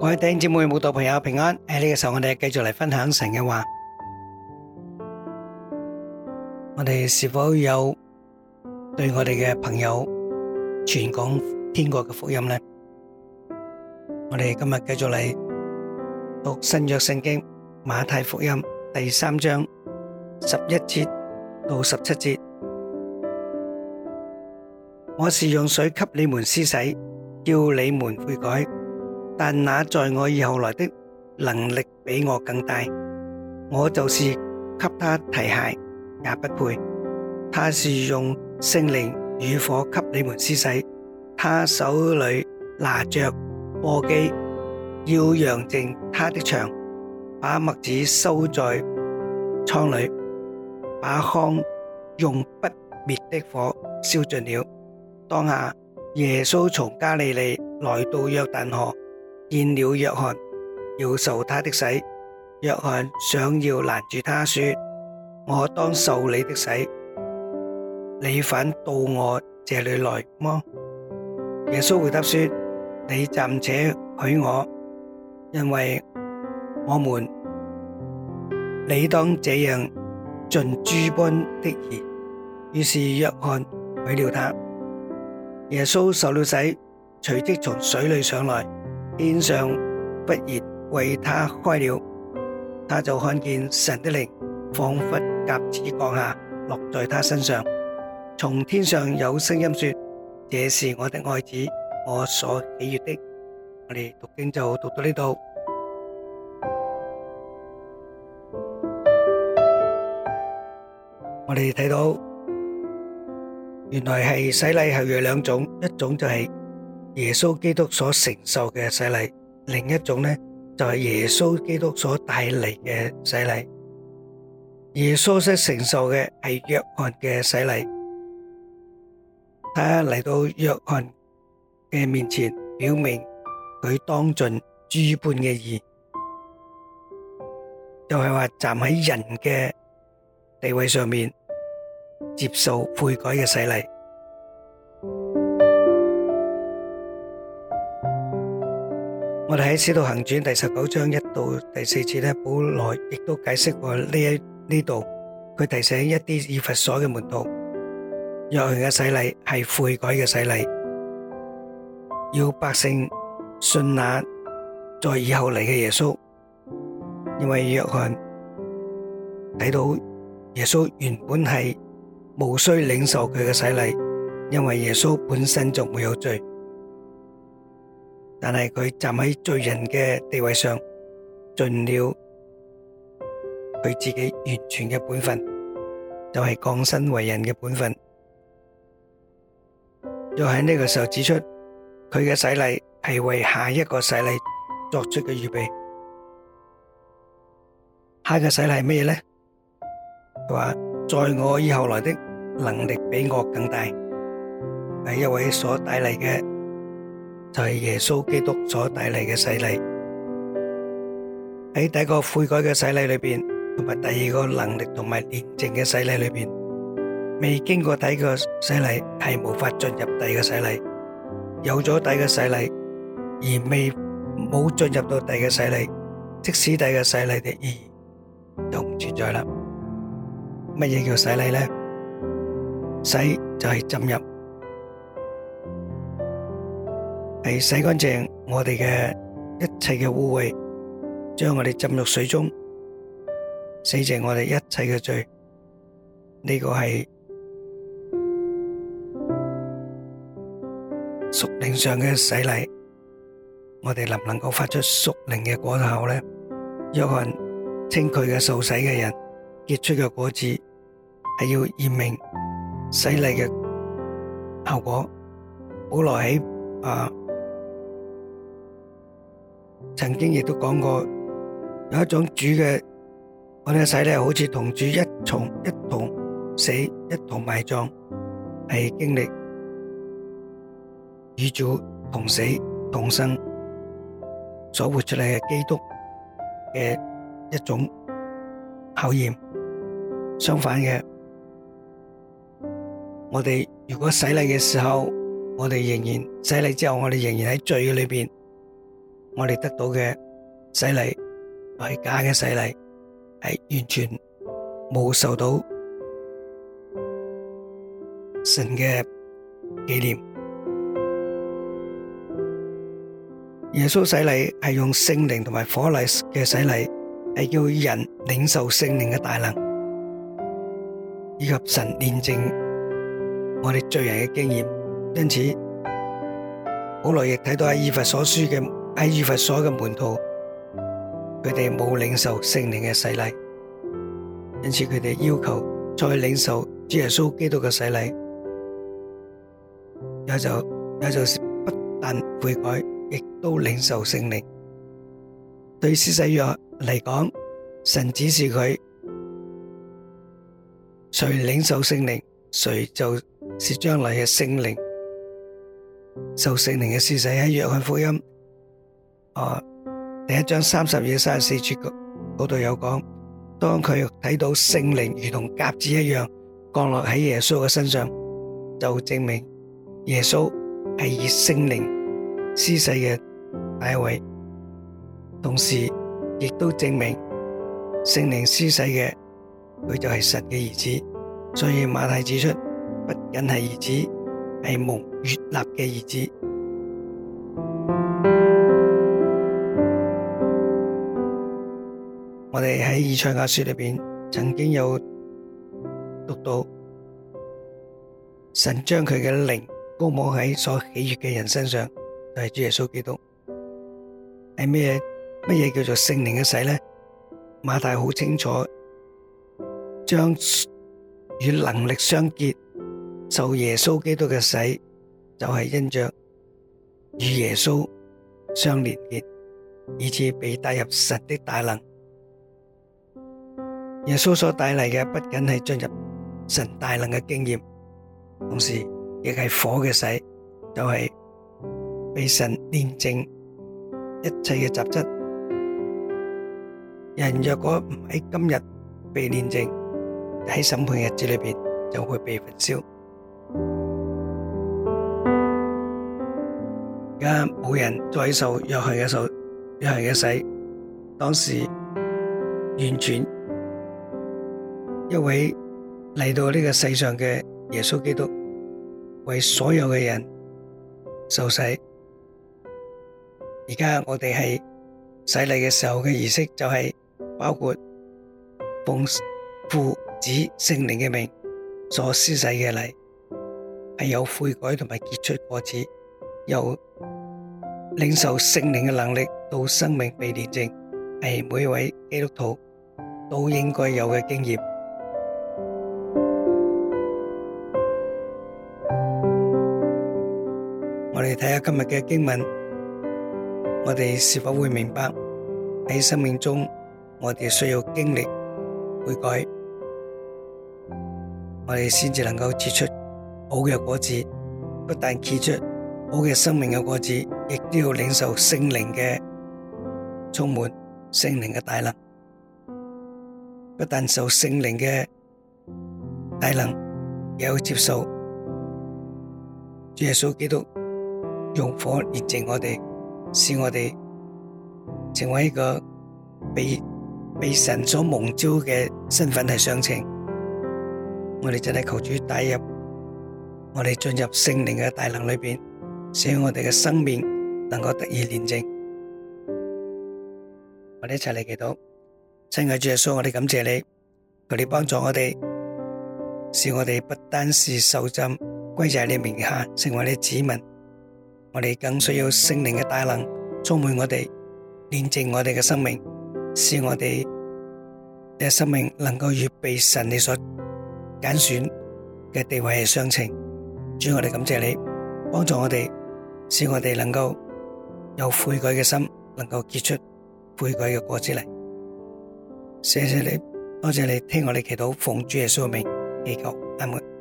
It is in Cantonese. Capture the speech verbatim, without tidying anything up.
各位弟兄姊妹、慕道朋友平安。喺呢個時候，我哋繼續嚟分享神嘅話。我哋是否有對我哋嘅朋友傳講天國嘅福音呢？我哋今日繼續嚟讀新約聖經馬太福音第三章十一節到十七節。我是用水給你們施洗，叫你們悔改。但那在我以後來的能力比我更大，我就是給他提鞋也不配。他是用聖靈與火給你們施洗，他手裏拿着簸箕，要揚淨他的場，把麥子收在倉裏，把糠用不滅的火燒盡了。當下耶穌從加利利來到約旦河，見了約翰，要受他的洗。約翰想要攔住他說：我當受你的洗，你反到我這裏來麼？耶穌回答說：你暫且許我，因為我們理當這樣盡諸般的義。於是約翰許了他。耶穌受了洗，隨即從水裏上來，天上忽然為他開了，他就看見神的靈仿佛鴿子降下，落在他身上。從天上有聲音說：這是我的愛子，我所喜悅的。我哋讀經就讀到呢度。我哋睇到原來係洗禮係有兩種，一種就係耶穌基督所承受嘅洗禮，另一種呢就係耶穌基督所帶嚟嘅洗禮。耶穌所承受嘅係約翰嘅洗禮，他嚟到約翰嘅面前，表明佢當盡諸般嘅義，就係話站喺人嘅地位上面接受悔改嘅洗禮。我哋喺《使徒行傳》第十九章一到第四節咧，保羅亦都解釋過呢一呢度，佢提醒一啲以弗所嘅門徒，約翰嘅洗禮係悔改嘅洗禮，要百姓信那在以後嚟嘅耶穌，因為約翰睇到耶穌原本係無需領受佢嘅洗禮，因為耶穌本身就沒有罪。但係佢站喺罪人嘅地位上，盡了佢自己完全嘅本分，就係降身為人嘅本分。又喺呢個時候指出，佢嘅洗禮係為下一個洗禮作出嘅預備。下一個洗禮係乜嘢呢？佢話：在我以後來的能力比我更大，係一位所帶嚟嘅，就係耶穌基督所帶嚟嘅洗禮。喺第一個悔改嘅洗禮裏邊，同埋第二個能力同埋煉淨嘅洗禮裏邊，未經過第一個洗禮係無法進入第二個洗禮。有咗第一個洗禮而未冇進入到第二個洗禮，即使第二個洗禮嘅意義就唔存在啦。乜嘢叫洗禮呢？洗就係浸入，係洗乾淨我哋嘅一切嘅污穢，將我哋浸入水中，洗淨我哋一切嘅罪。呢個係屬靈上嘅洗禮。我哋能唔能夠發出屬靈嘅果效呢？約翰稱佢嘅受洗嘅人結出嘅果子係要驗明洗禮嘅效果。保羅喺啊曾經亦都講過，有一種主嘅我哋嘅洗禮好似同主一同一同死一同埋葬，係經歷與主同死同生所活出嚟嘅基督嘅一種考驗。相反嘅，我哋如果洗禮嘅時候，我哋仍然洗禮之後，我哋仍然喺罪裏邊， 我哋得到嘅洗禮係假嘅洗禮，係完全冇受到神嘅紀念。耶穌洗禮係用聖靈同埋火禮嘅洗禮，係叫人領受聖靈嘅大能，以及神煉淨我哋罪人嘅經驗。因此保羅亦睇到喺以弗所書嘅喺以弗所嘅門徒，佢哋冇領受聖靈嘅洗禮，因此佢哋要求再領受主耶穌基督嘅洗禮，也就也就是不但悔改，亦都領受聖靈。對施洗約嚟講，神指示佢，誰領受聖靈，誰就是將來嘅聖靈。受聖靈嘅施洗喺約翰福音啊第一章三十二、三十四節嗰度有講，當佢睇到聖靈如同鴿子一樣降落喺耶穌嘅身上，就證明耶穌係以聖靈施洗嘅第一位，同時亦都證明聖靈施洗嘅佢就係神嘅兒子。所以馬太指出，不僅係兒子，係蒙悅納嘅兒子。我哋喺以賽亞書裏邊曾經有讀到，神將佢嘅靈膏抹喺所喜悅嘅人身上，就係主耶穌基督。係咩乜嘢叫做聖靈嘅洗呢？馬太好清楚，將與能力相結，受耶穌基督嘅洗，就係因着與耶穌相連結，以致被帶入神的大能。耶穌所帶嚟嘅不僅係進入神大能嘅經驗，同時亦係火嘅洗，就係被神煉淨一切嘅雜質。人若果唔喺今日被煉淨，喺審判日子裏邊就會被焚燒。而家冇人再受約翰嘅受約翰嘅洗，當時完全一位嚟到呢個世上嘅耶穌基督，為所有嘅人受洗。而家我哋係洗禮嘅時候嘅儀式，就係包括奉父子聖靈嘅名所施洗嘅禮，係有悔改同埋結出果子，由領受聖靈嘅能力到生命被煉淨，係每一位基督徒都應該有嘅經驗。我哋睇下今日嘅經文，我哋是否會明白喺生命中我哋需要經歷悔改，我哋先至能夠結出好嘅果子。不但結出好嘅生命嘅果子，亦都要領受聖靈嘅充滿，聖靈嘅大能。不但受聖靈嘅大能，亦要接受主耶穌基督用火煉淨我哋，使我哋成為一個被被神所蒙召嘅身份係相稱。我哋真係求主帶入我哋進入聖靈嘅大能裏邊，使我哋嘅生命能夠得以煉淨。我哋一齊嚟祈禱。親愛主耶穌，我哋感謝你，求你幫助我哋，使我哋不單是受浸歸在你名下，成為你子民，我哋更需要聖靈嘅大能充滿我哋，煉淨我哋嘅生命，使我哋嘅生命能夠與被神你所揀選嘅地位係相稱。主，我哋感謝你，幫助我哋，使我哋能夠有悔改嘅心，能夠結出悔改嘅果子嚟。謝謝你，多謝你聽我哋祈禱，奉主耶穌嘅名祈求，阿門。